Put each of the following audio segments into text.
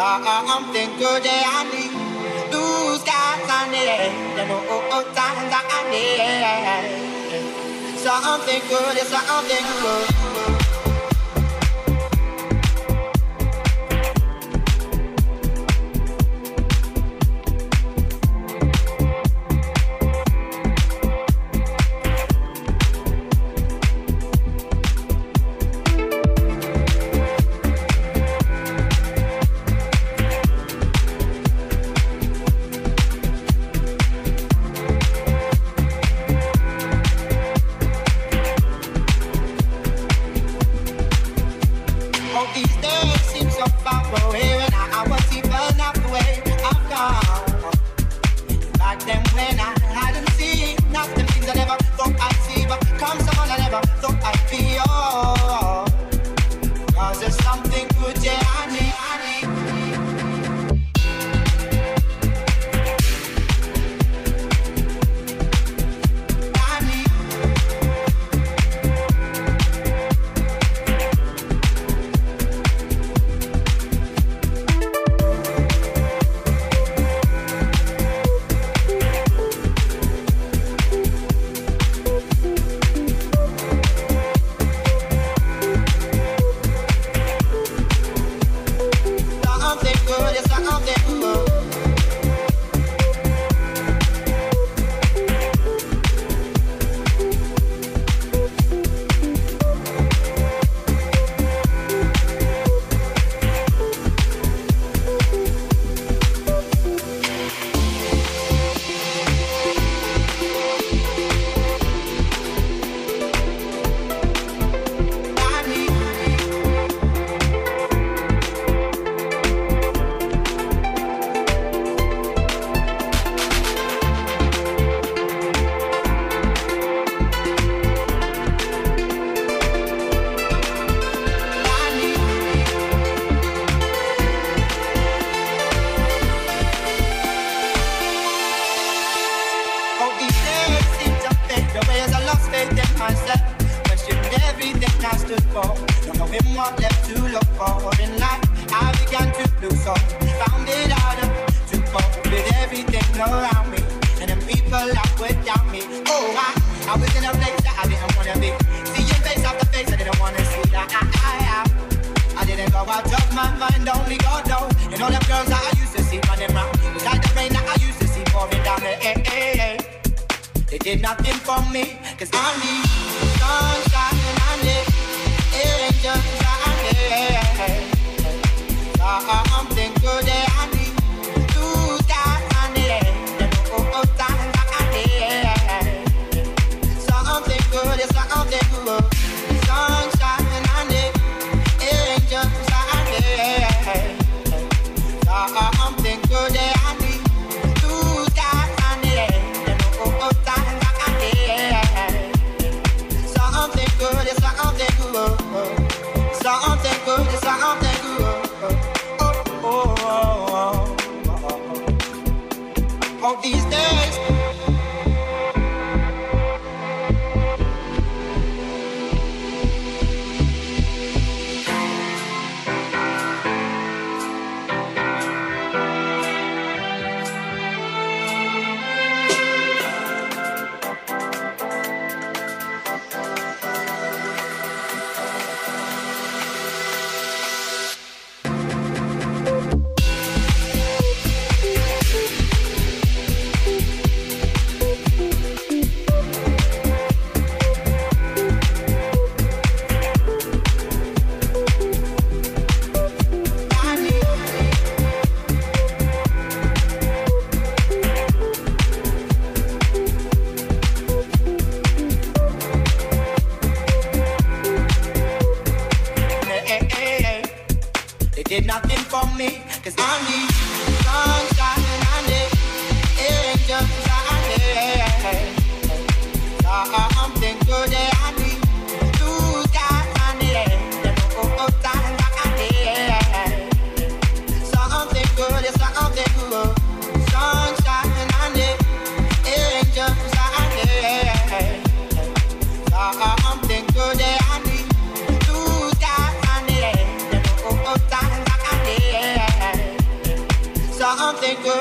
something good that I need. Blue skies on the air, you know, times I need. Something good is something good.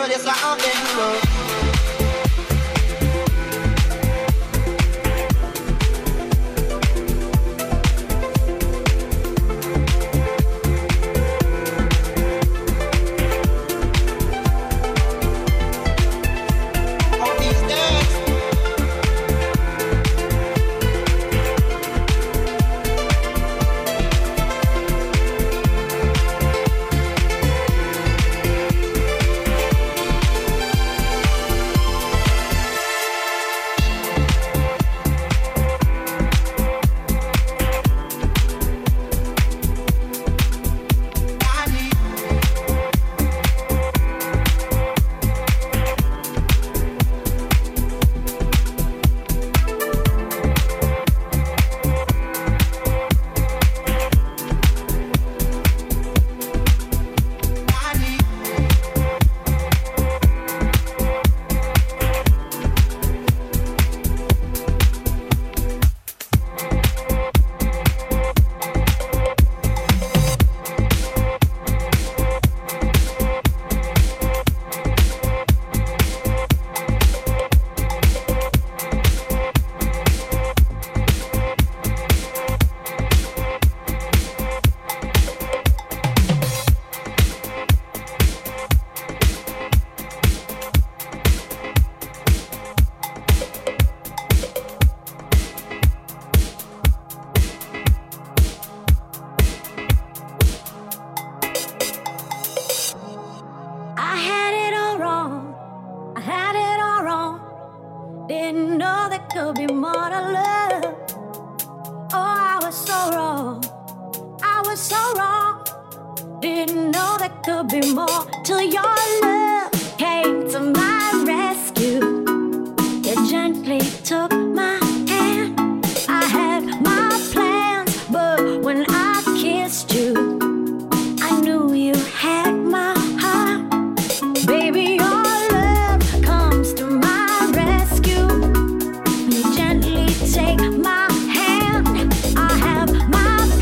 tell you something, oh.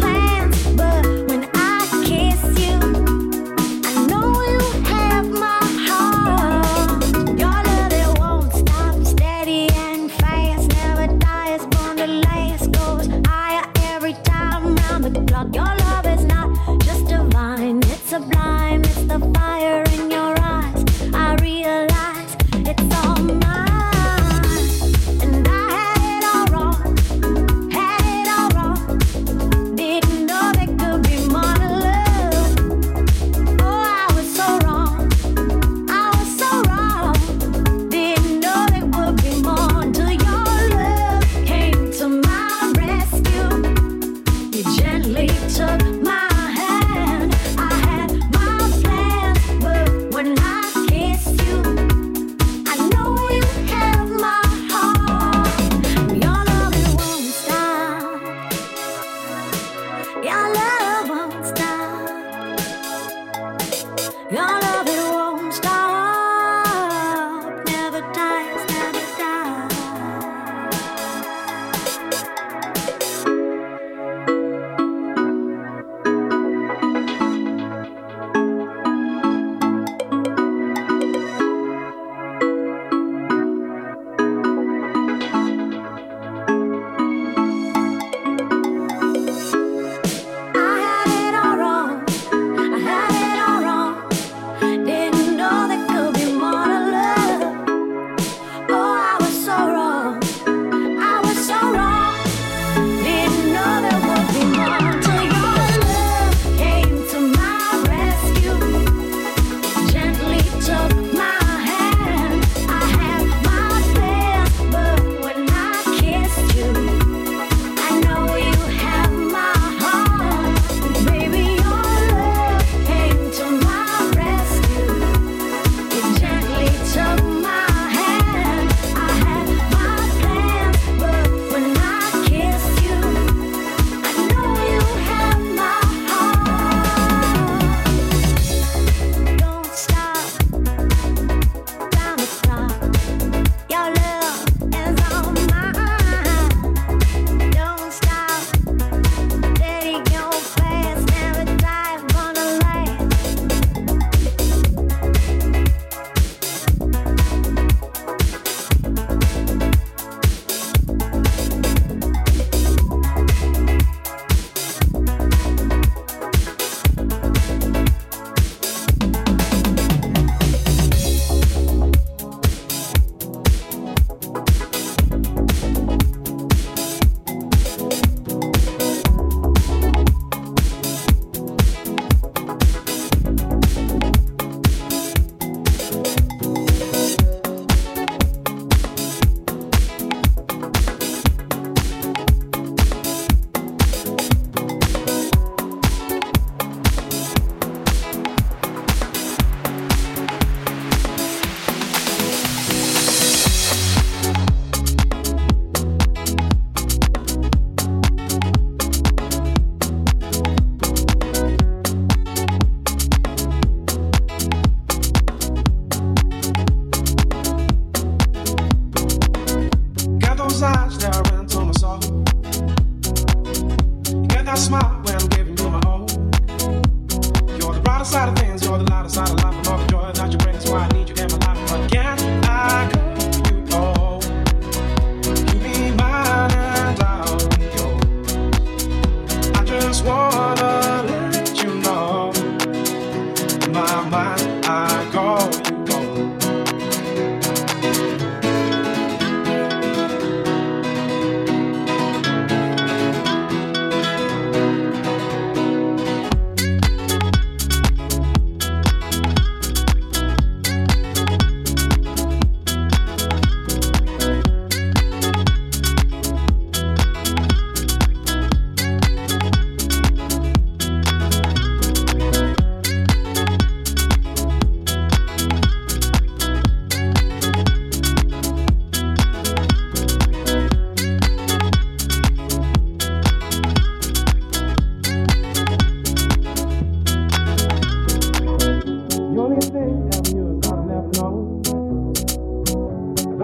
My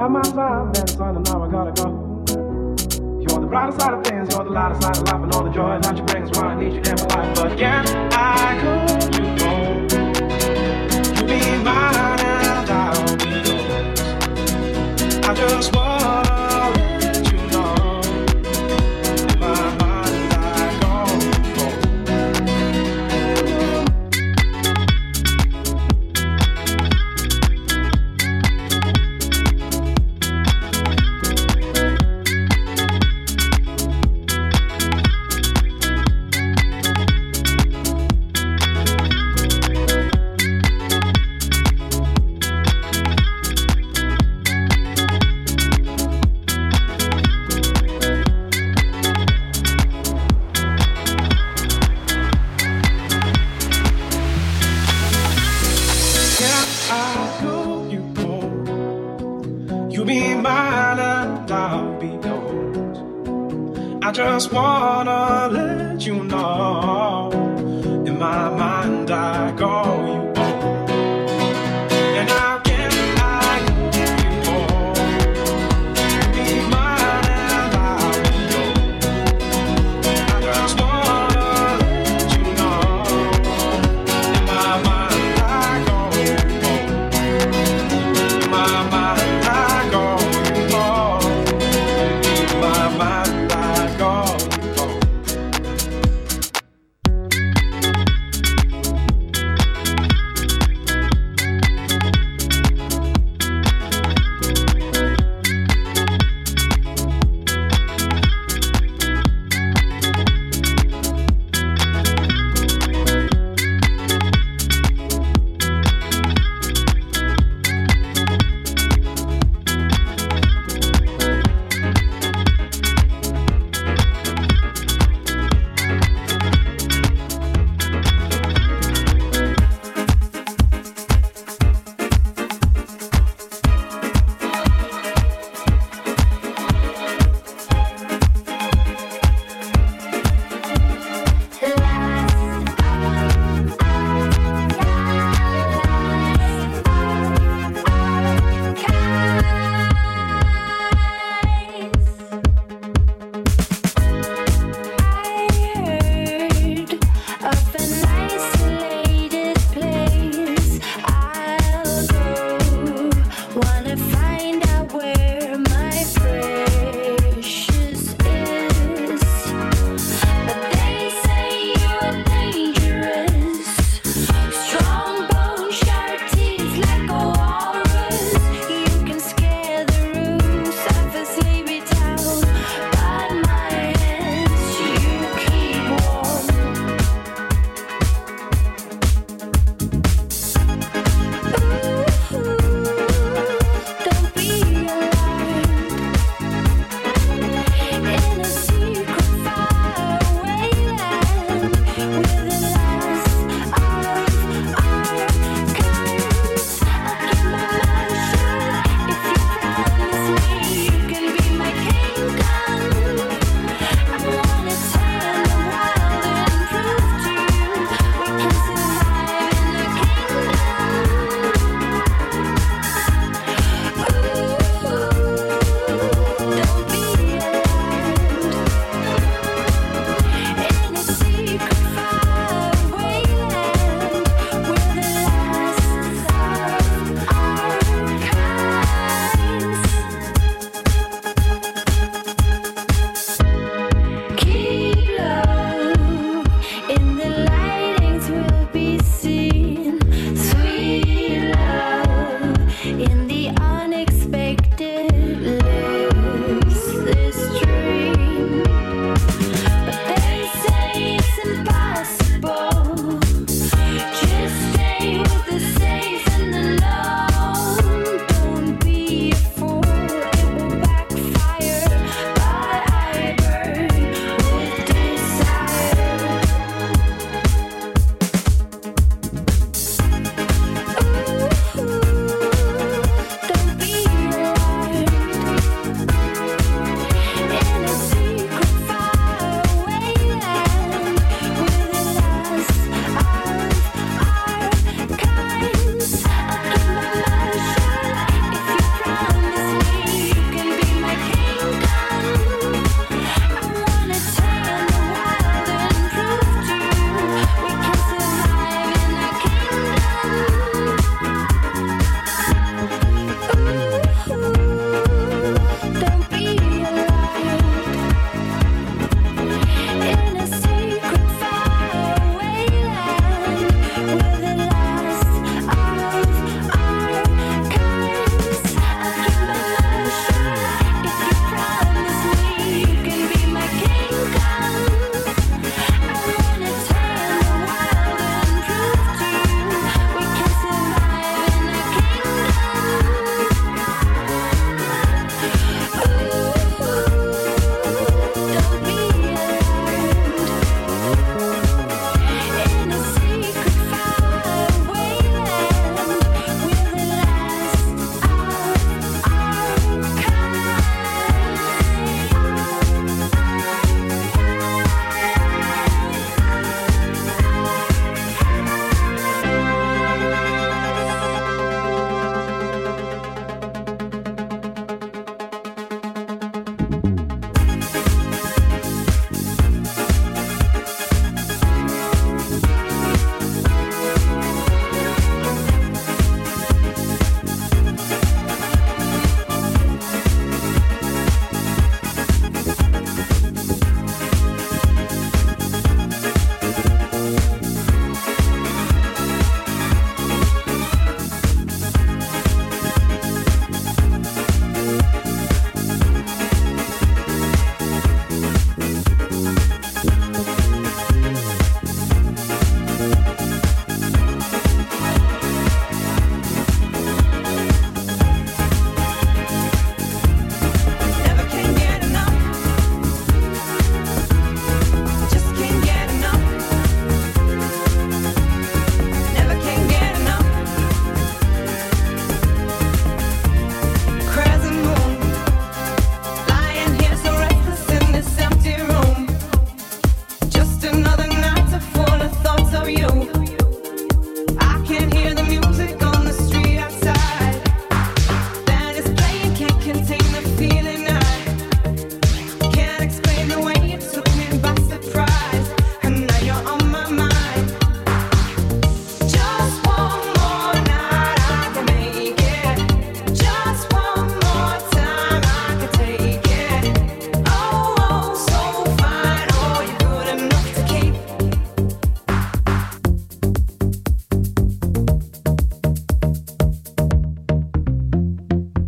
got my vibe, man, son, and now I gotta go. You're the brighter side of things, you're the lighter side of life, and all the joy that you bring is why I need you in my life. But can I call you home? You be mine and I'll be yours. I just wanna let you know, in my mind I go home. Just wanna let you know, in my mind I call you home. And how can I give you more? Be mine and I'll be yours. I just wanna let you know, in my mind I call you home. In my mind I call you home. In my mind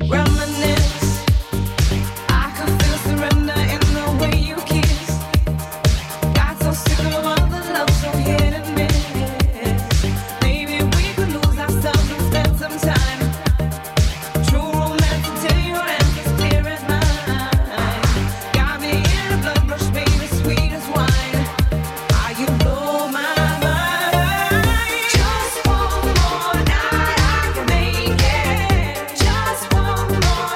Just one more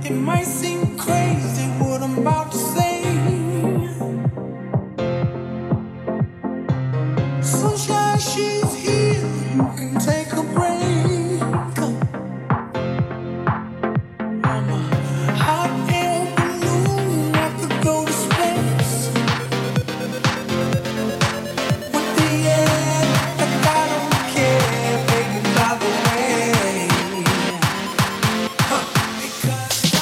It might seem crazy what I'm about to say. Sunshine, she's here. You can take a break. I'm a hot air balloon. I could go to space with the air. Like I don't care, baby, by the way. Because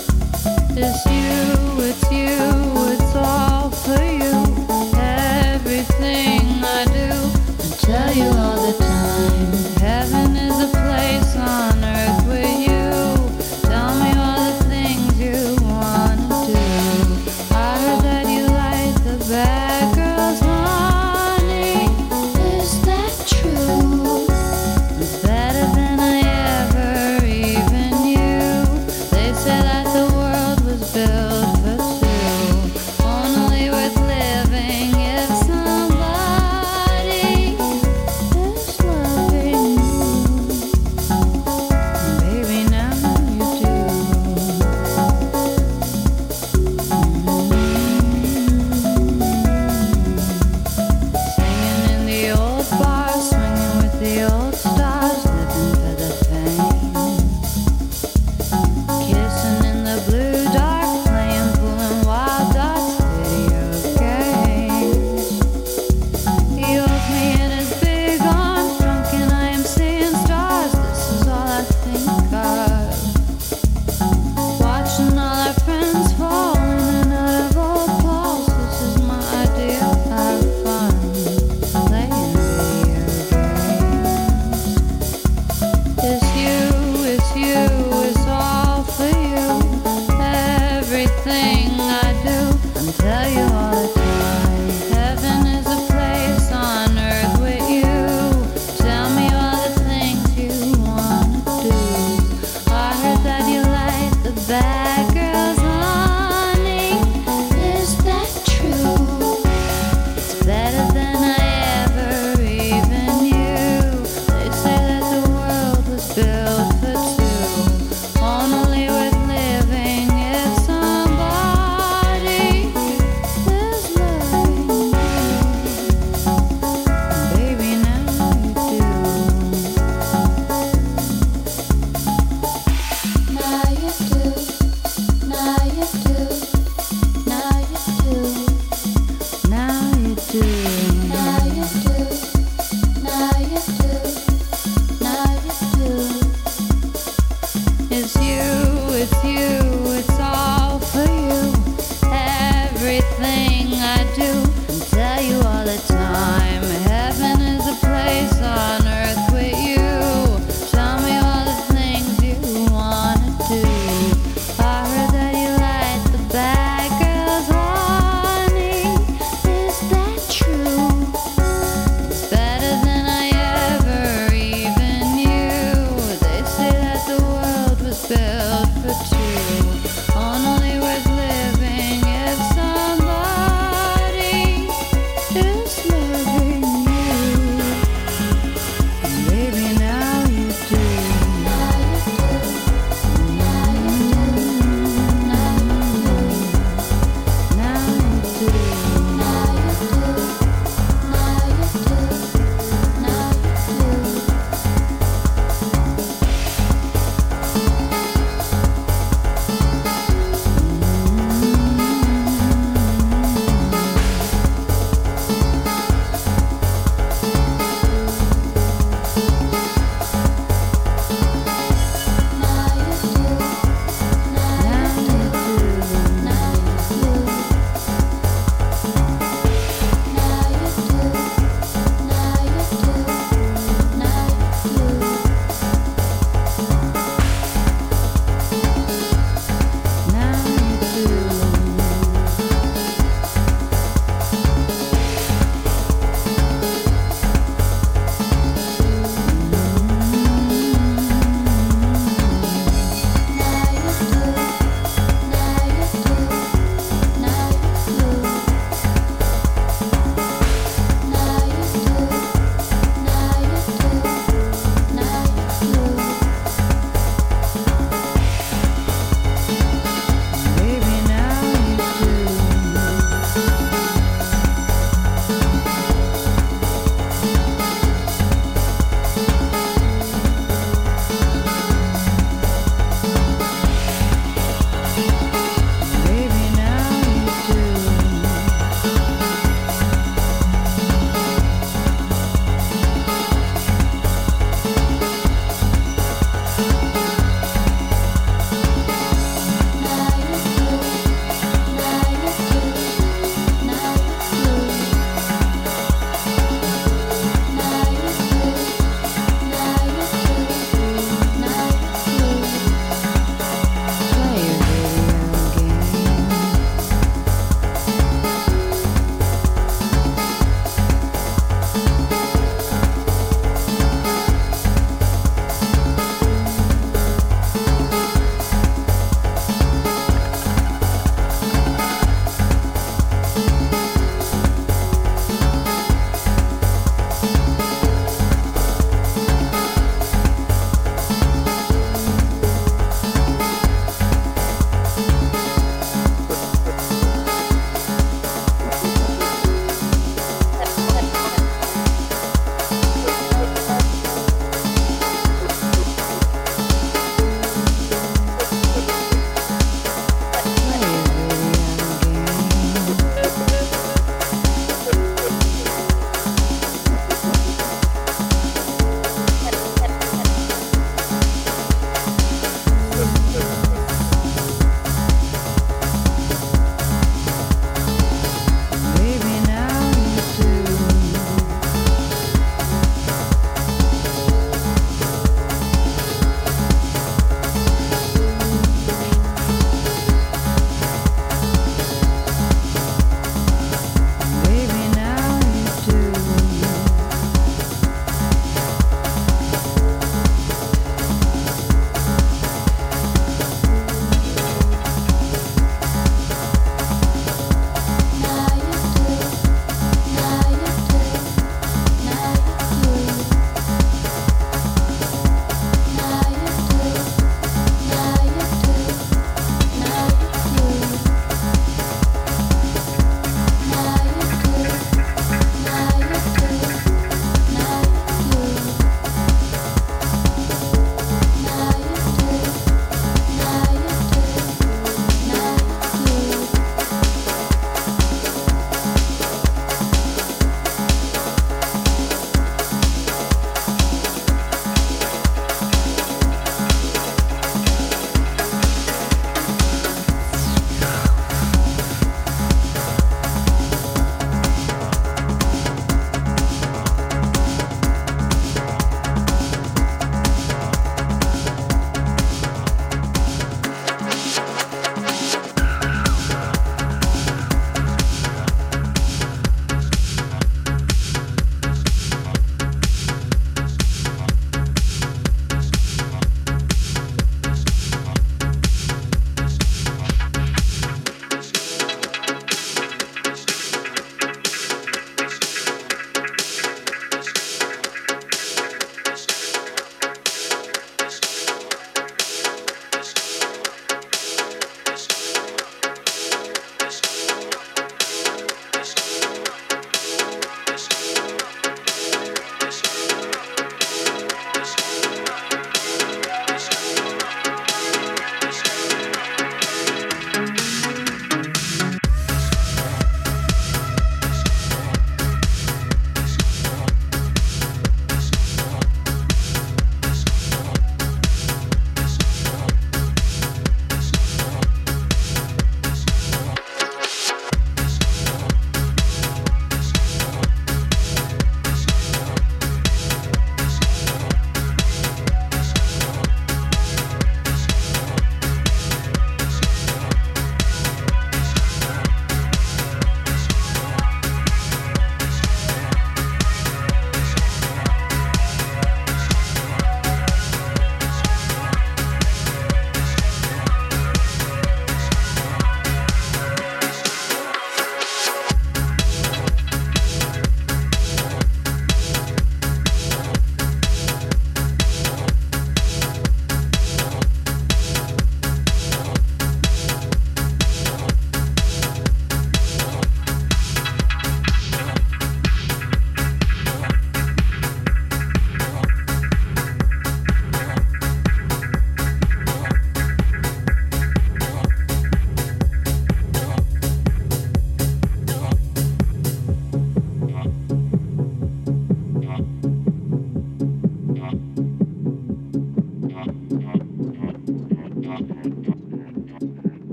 It's you, it's all for you. I do and tell you all the time. Heaven is a place on earth with you. Tell me all the things you wanna do. I heard that you like the bad girls, honey. Is that true? It's better than I ever even knew. They say that the world was built for two. Only worth living if somebody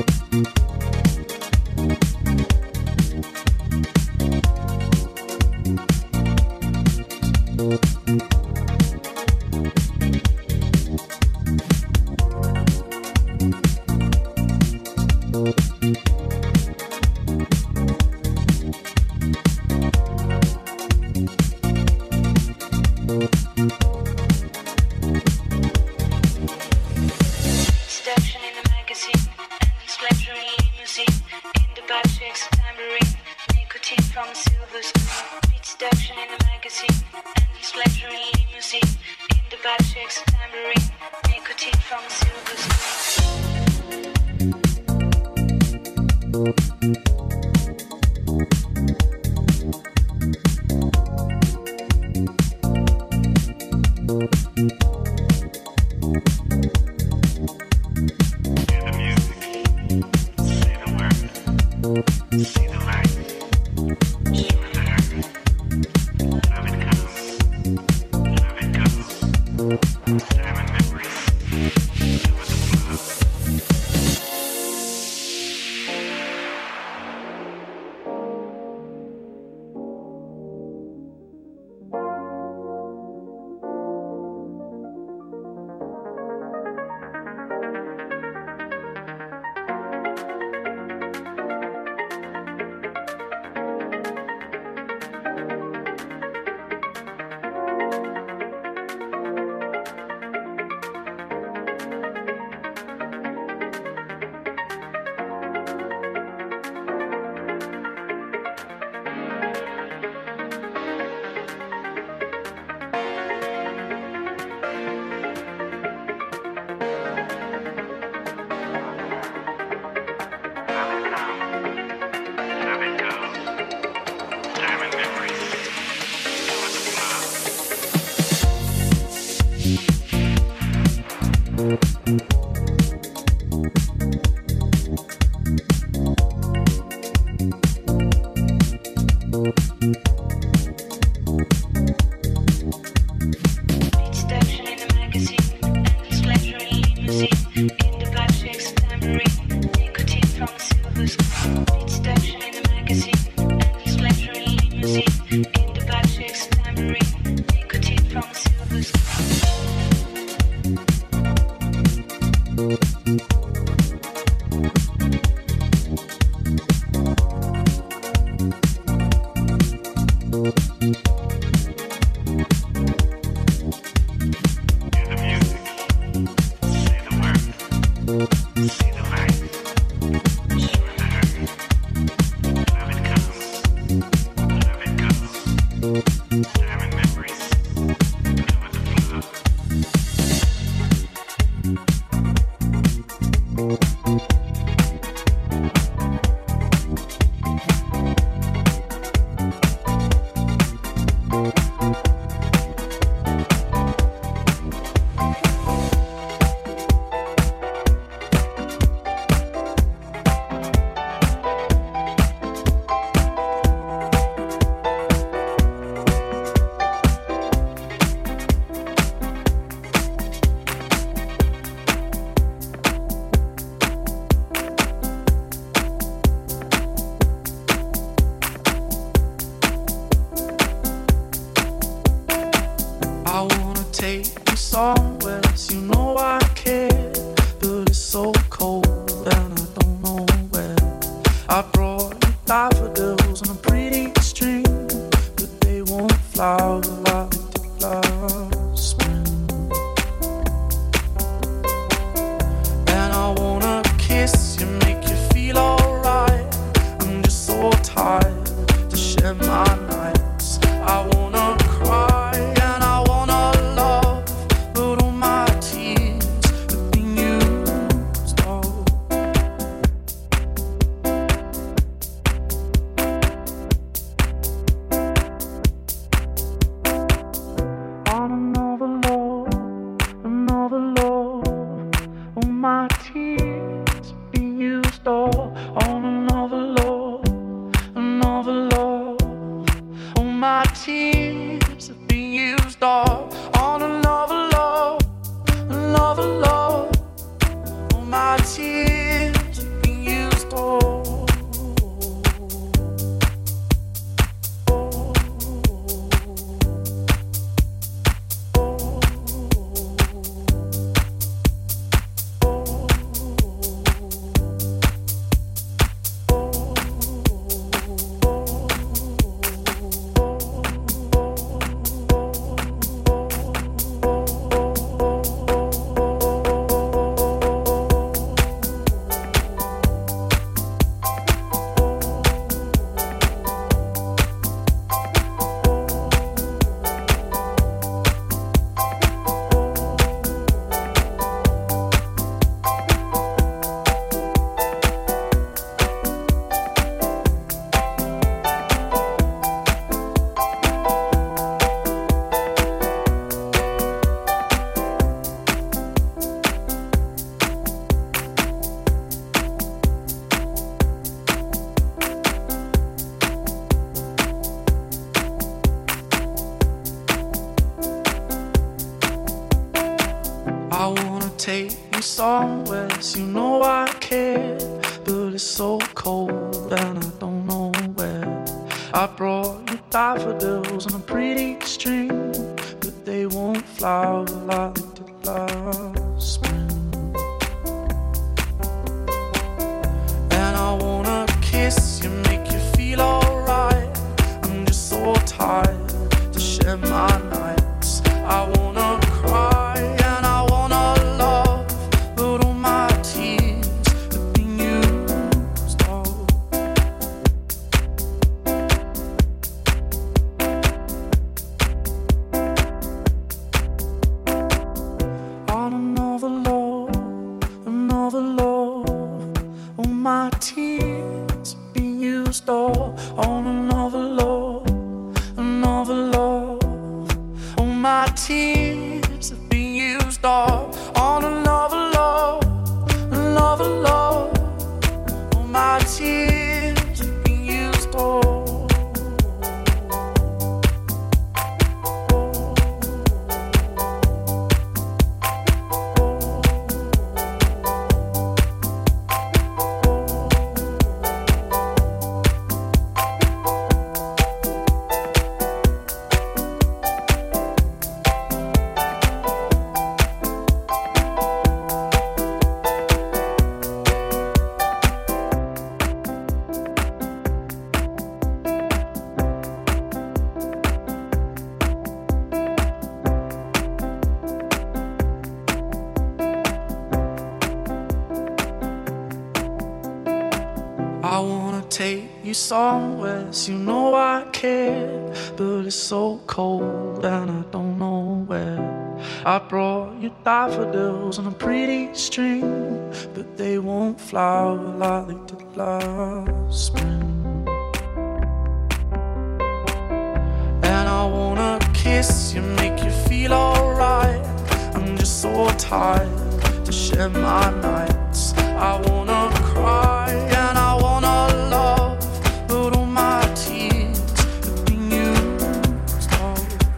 My tears have been somewhere, you know I care, but it's so cold and I don't know where. I brought you daffodils on a pretty string, but they won't flower like they did last spring. And I wanna kiss you, make you feel alright. I'm just so tired to share my nights. I wanna cry and I wanna love, but all my tears have been used up. On another love, all my tears have been used up. On another love, all my tears have been used up. On another love, all my tears have been used up. I wanna take you somewhere, you know I care, but it's so cold and I don't know where. I brought you daffodils on a pretty string, but they won't flower like they did last spring. And I wanna kiss you, make you feel alright. I'm just so tired to share my nights. I wanna cry and I wanna love, but all my tears have been used up.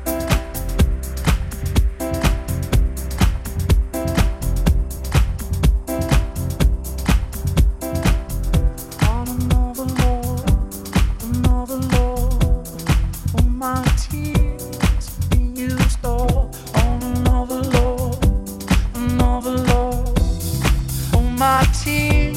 On another love, all my tears have been used up. On another love, all my tears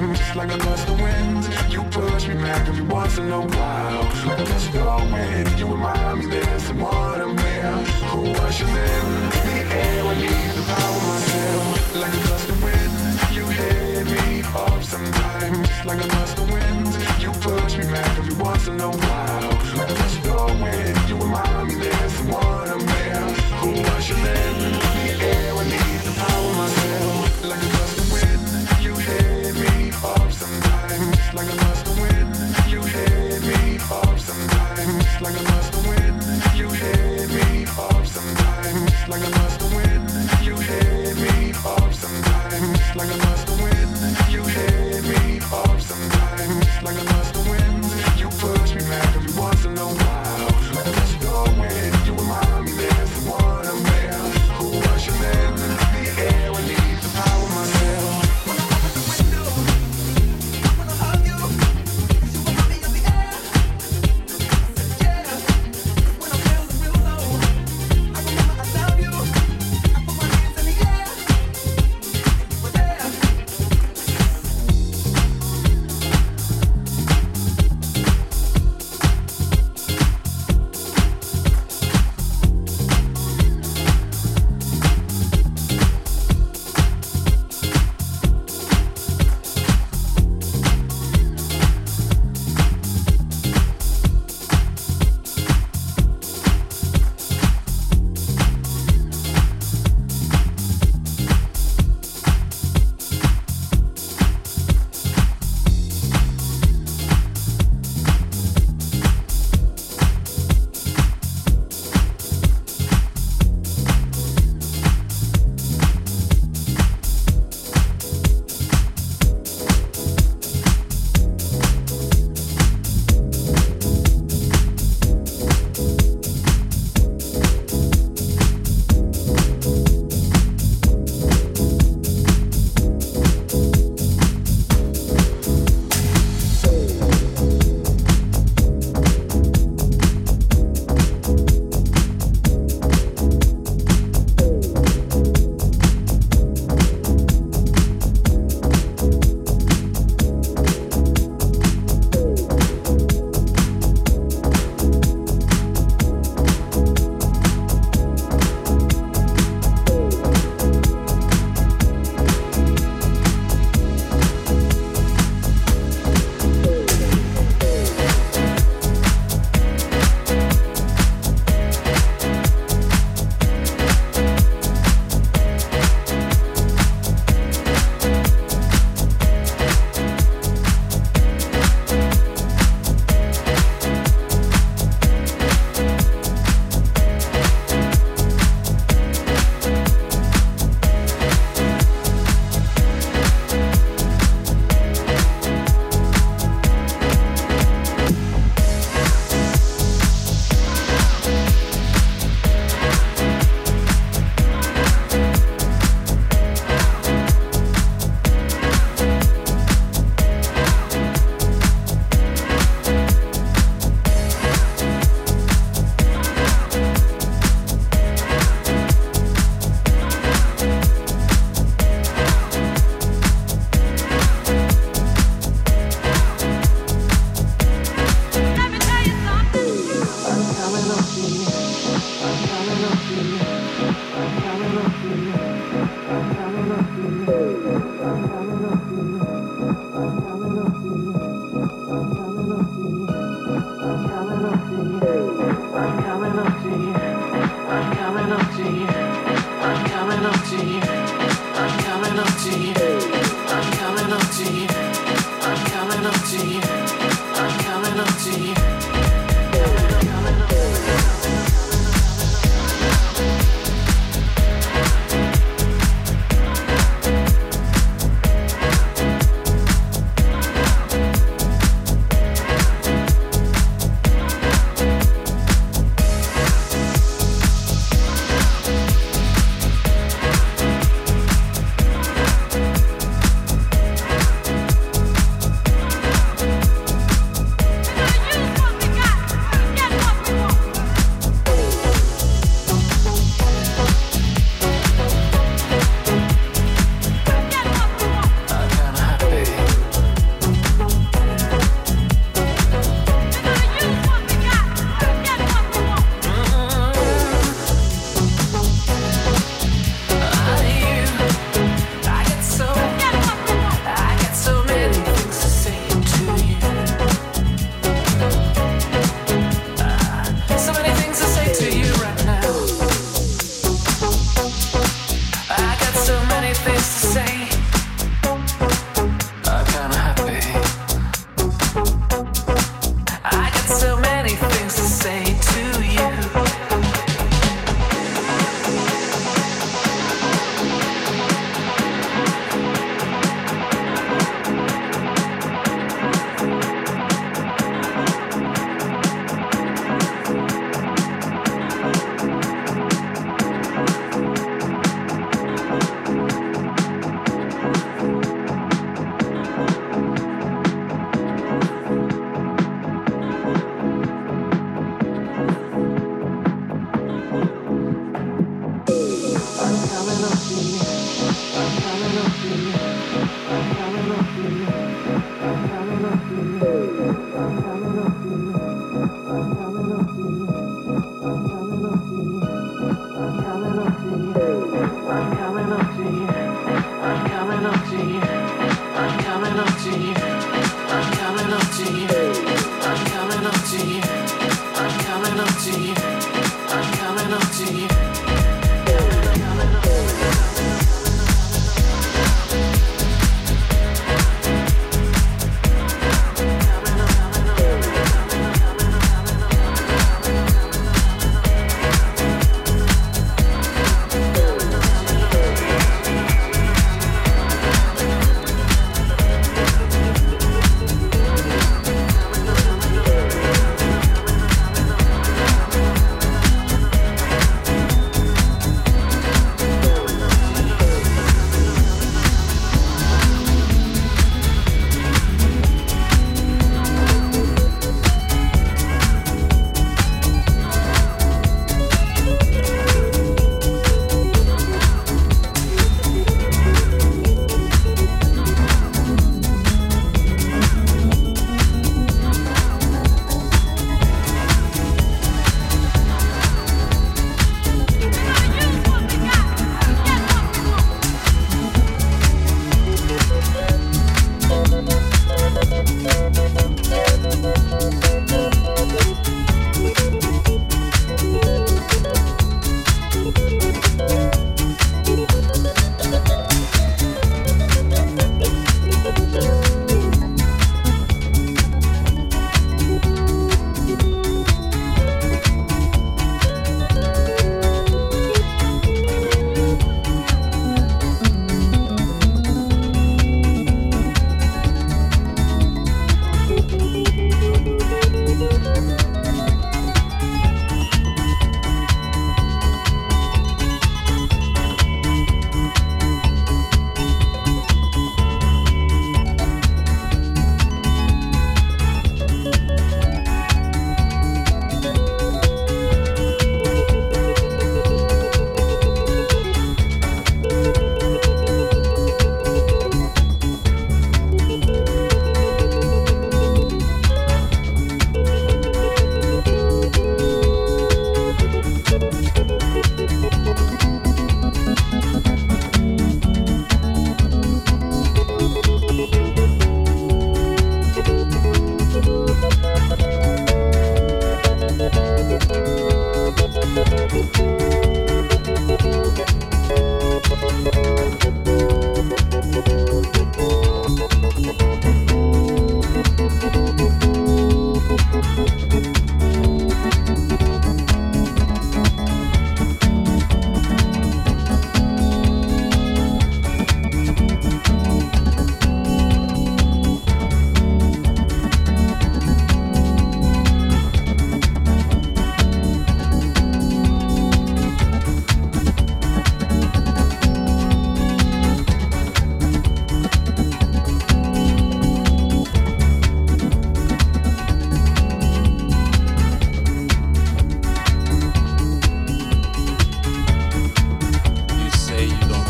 sometimes, just like a gust of wind. You push me back every once in a while. Like a gust of wind, you remind me there's someone I'm here who rushes in the air. I need the power myself. Like a gust of wind, you hit me up sometimes, just like a gust of wind. You push me back every once in a while. Like a gust of wind, you remind me there's someone I'm here who rushes in the air. I need the power myself. Like a gust of wind, you hit me up sometimes, like a gust of wind. You hit me up sometimes, like a gust of wind. You hit me up sometimes, like a gust of wind. You hit me up sometimes, like a gust of wind. You hit me up sometimes, like a gust of wind. You push me back every once in a while. Like a gust of wind, you remind me there's someone I'm there who rushes in the air. I need the power myself. When I open the window, I wanna hug you. You remind me of the air. Yeah, when I'm feeling real low, I remember I love you. I put my hands in the air. We're there.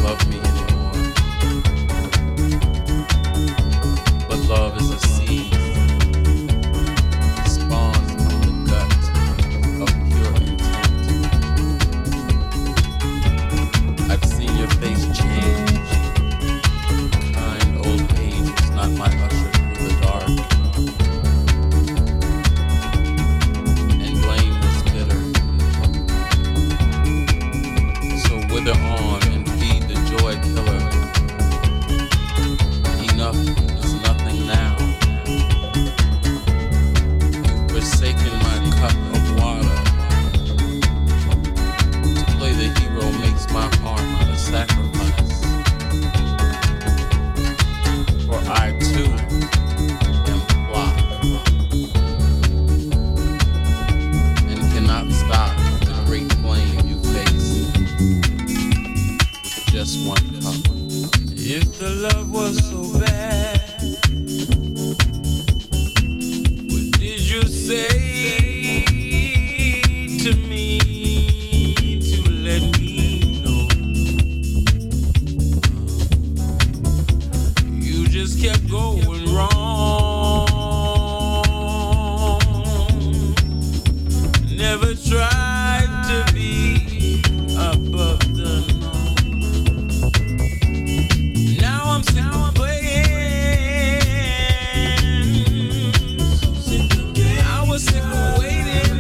love me anymore. But love is a seed, spawned from the gut of pure intent. I've seen your face change. Kind old age is not my usher through the dark. And blame is bitter. So wither on and feed the joy killer. Enough is nothing now. You've forsaken my cup of water. To play the hero makes my heart a sacrifice. For I too am flock and cannot stop the great flame you face with just one cup. If the love was so bad, what did you say to me to let me know? You just kept going wrong. Never tried to be above the norm. Now I'm sick of playing. I was sick of waiting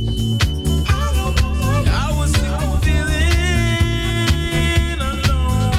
games. I was sick of feeling alone.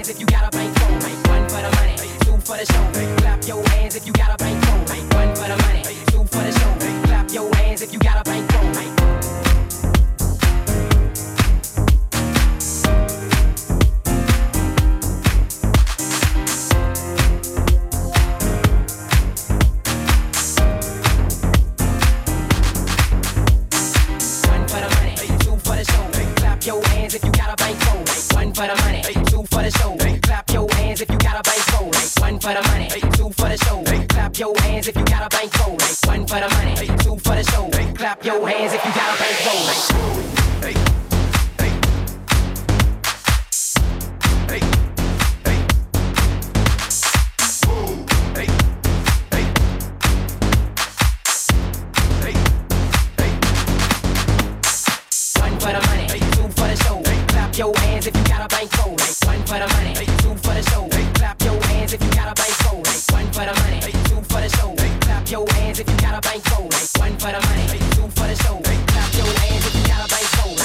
hands if you got a bankroll. One for the money, two for the show. Clap your hands if you got a bankroll. One for the money, two for the show. Clap your hands if you got a bankroll. Your hands if you got a bankroll. One for the money, two for the show. Clap your hands if you got a bankroll. One for the money, two for the show. Clap your hands if you got a bankroll. One for the money, two for the show. Clap your hands if you got a bankroll. Your hands if you got a bankroll. One for the money, two for the show. Clap your hands if you got a bankroll. One for the money, two for the show. Clap your hands if you got a bankroll. One for the money, two for the show. Clap your hands if you got a bankroll.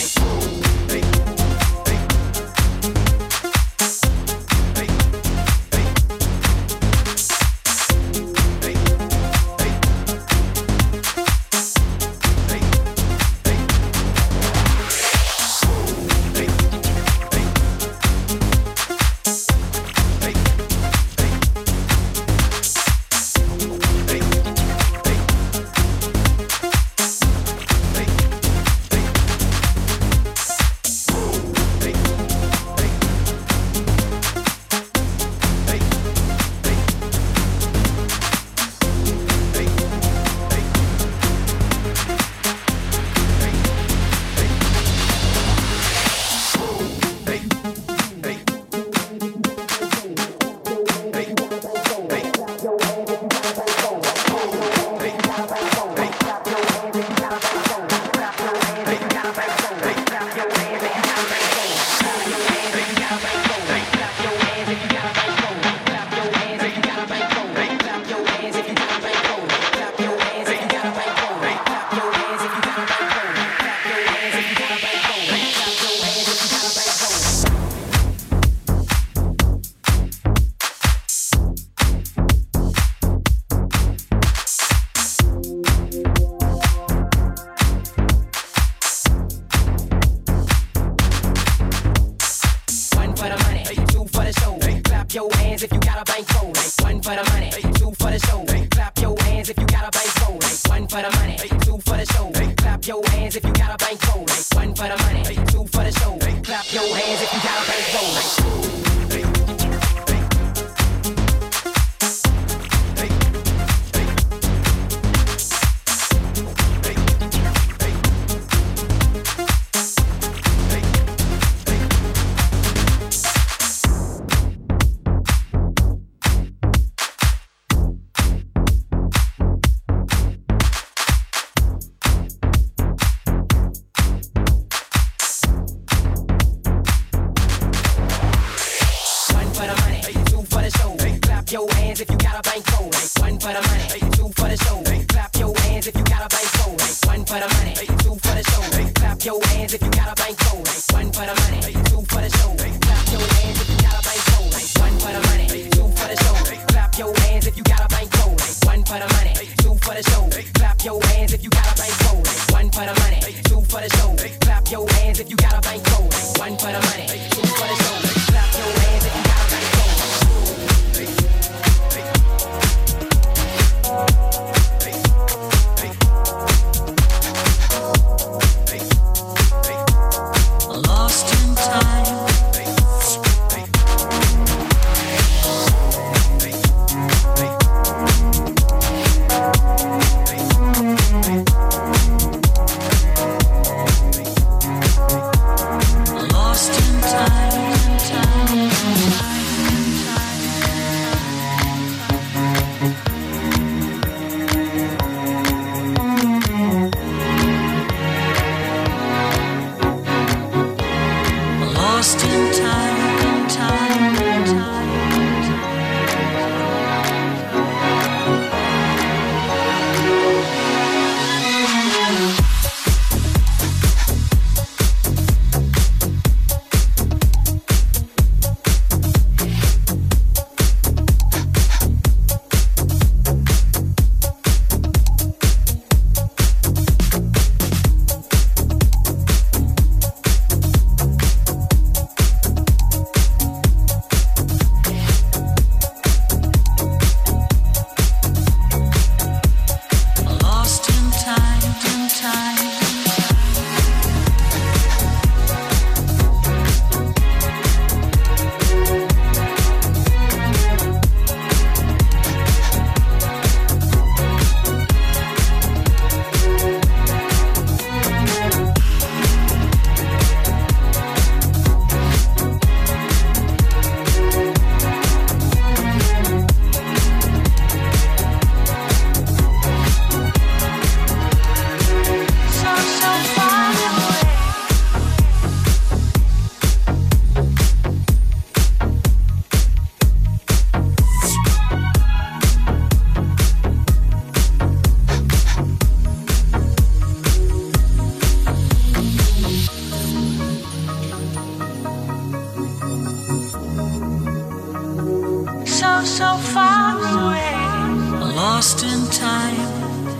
so far away. Lost in time.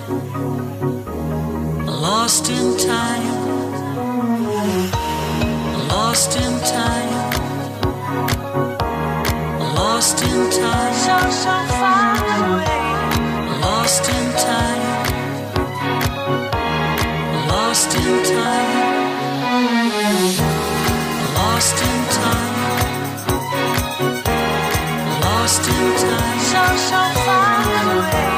Lost in time. Lost in time. Lost in time. So far away. Lost in time. Lost in time. Lost in time. Lost in time. So far away.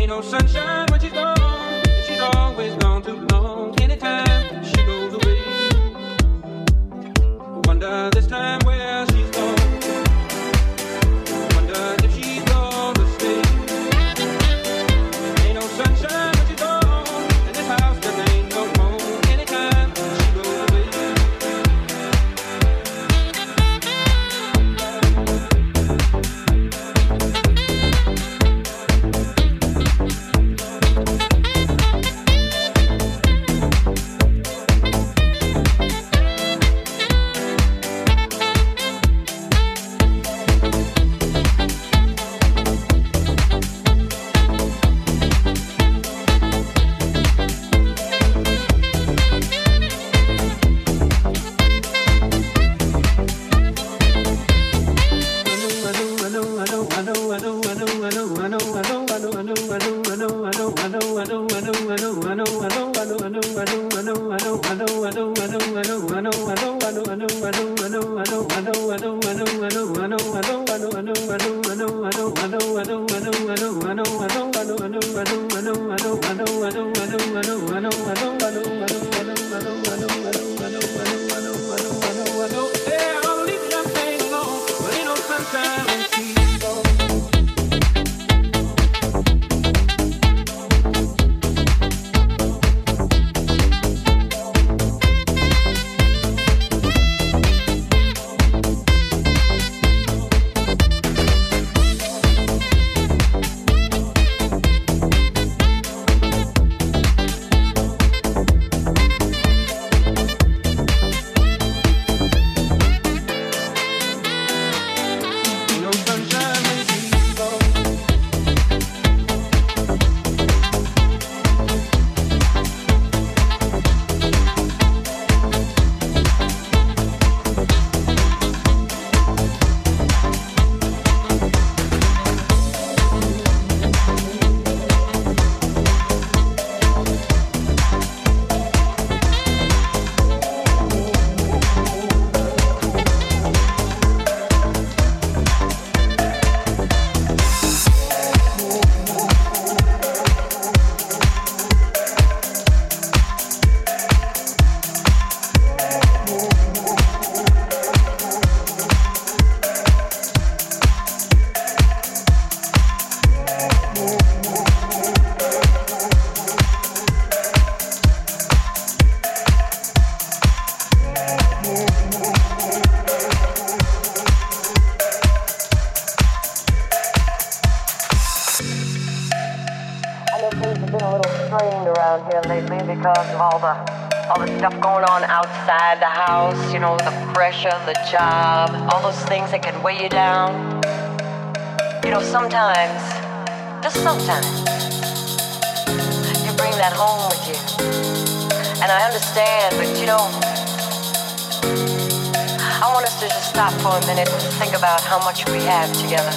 Ain't no sunshine when she's gone, and she's always gone too long. Anytime she goes away, wonder this time where she's gone. Wonder if she's gonna stay. Ain't no sunshine when she's gone, and this house just ain't no home. Anytime she goes away. Outside the house, you know, the pressure, the job, all those things that can weigh you down. You know, sometimes, just sometimes, you bring that home with you. And I understand, but you know, I want us to just stop for a minute and think about how much we have together.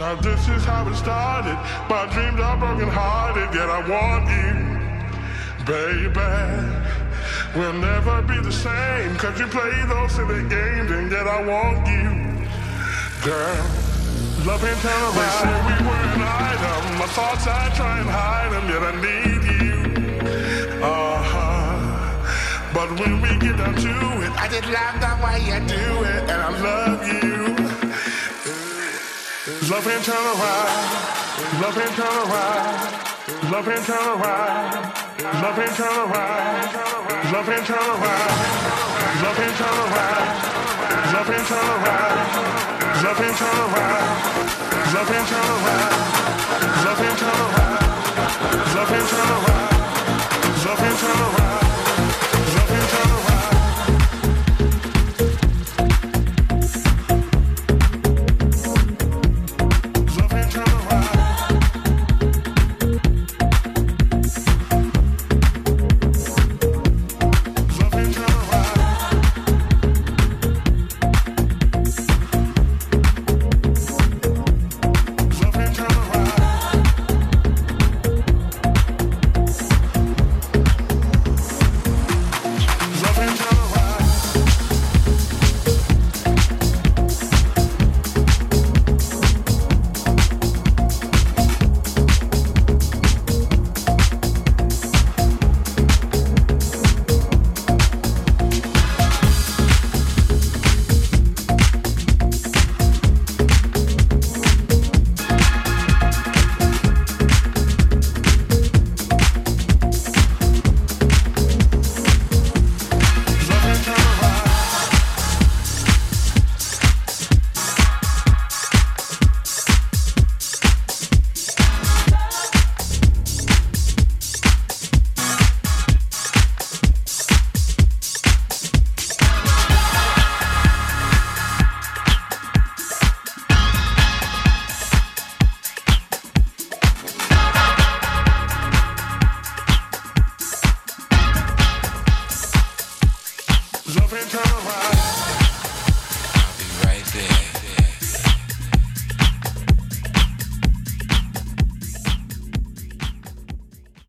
Now this is how it started. My dreams are broken hearted, yet I want you, baby. We'll never be the same, cause you play those silly games, and yet I want you, girl. Love ain't turn around. They say we were an item. My thoughts I try and hide them, yet I need you. But when we get down to it, I just love the way you do it, and I love you. Love ain't turn around. Love ain't turn around. Love ain't turn around. Love ain't turn around. Love ain't turn around. Love ain't turn around. Love ain't turn around. Love ain't turn around. Love ain't turn around. Love ain't turn around. Love ain't turn around. Love ain't turn around. Love ain't turn around. Love ain't turn around.